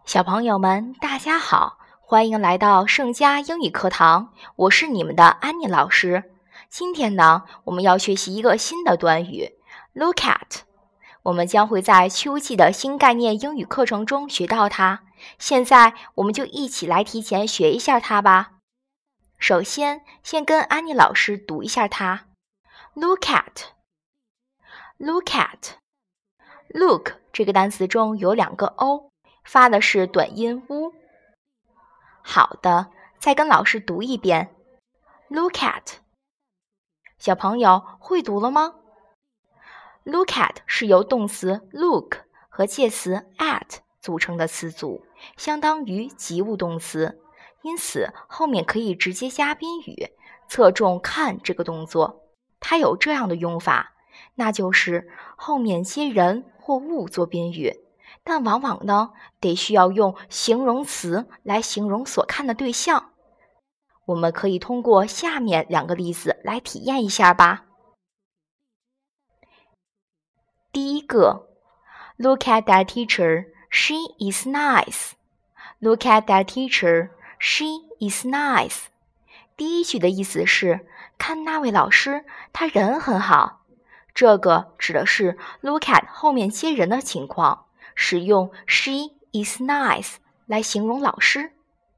小朋友们，大家好，欢迎来到盛佳英语课堂，我是你们的安妮老师。今天呢，我们要学习一个新的短语 look at， 我们将会在秋季的新概念英语课程中学到它。现在我们就一起来提前学一下它吧。首先跟安妮老师读一下它 look at look at look 这个单词中有两个 o，发的是短音 u。 好的，再跟老师读一遍 look at。 小朋友会读了吗？ look at 是由动词 look 和介词 at 组成的词组，相当于及物动词，因此后面可以直接加宾语，侧重看这个动作。它有这样的用法，那就是后面接人或物做宾语，但往往呢，得需要用形容词来形容所看的对象。我们可以通过下面两个例子来体验一下吧。第一个 Look at that teacher, she is nice. Look at that teacher, she is nice. 第一句的意思是看那位老师，他人很好。这个指的是 look at 后面接人的情况，使用 she is nice 来形容老师。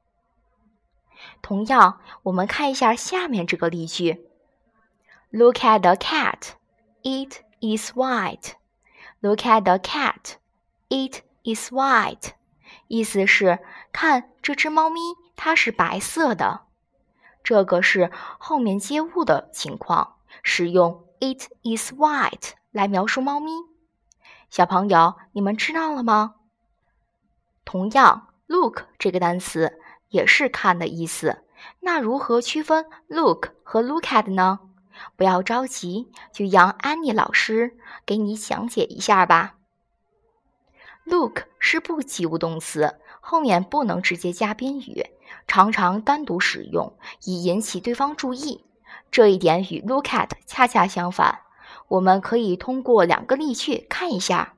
同样，我们看一下下面这个例句 Look at the cat, it is white. Look at the cat, it is white. 意思是看这只猫咪，它是白色的。这个是后面接物的情况，使用 it is white 来描述猫咪。小朋友，你们知道了吗？同样 look 这个单词也是看的意思，那如何区分 look 和 look at 呢？不要着急，就让安妮老师给你讲解一下吧。look 是不及物动词，后面不能直接加宾语，常常单独使用，以引起对方注意。这一点与 look at 恰恰相反，我们可以通过两个例句看一下。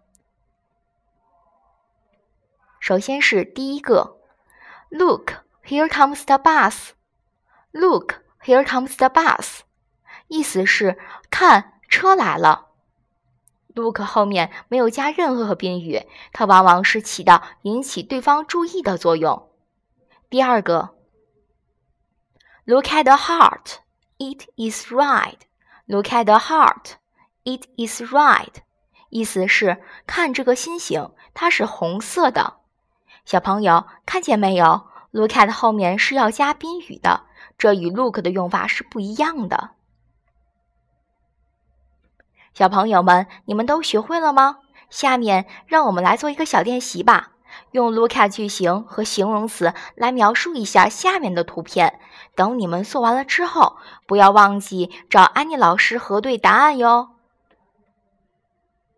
首先是第一个 Look, here comes the bus. Look, here comes the bus. 意思是看，车来了。look 后面没有加任何宾语，它往往是起到引起对方注意的作用。第二个 Look at the heart, it is red. Look at the heart, it is red. 意思是看这个心形，它是红色的。小朋友看见没有？ Look at 后面是要加宾语的，这与 look 的用法是不一样的。小朋友们，你们都学会了吗？下面让我们来做一个小练习吧，用 look at 句型和形容词来描述一下下面的图片。等你们做完了之后，不要忘记找安妮老师核对答案哟。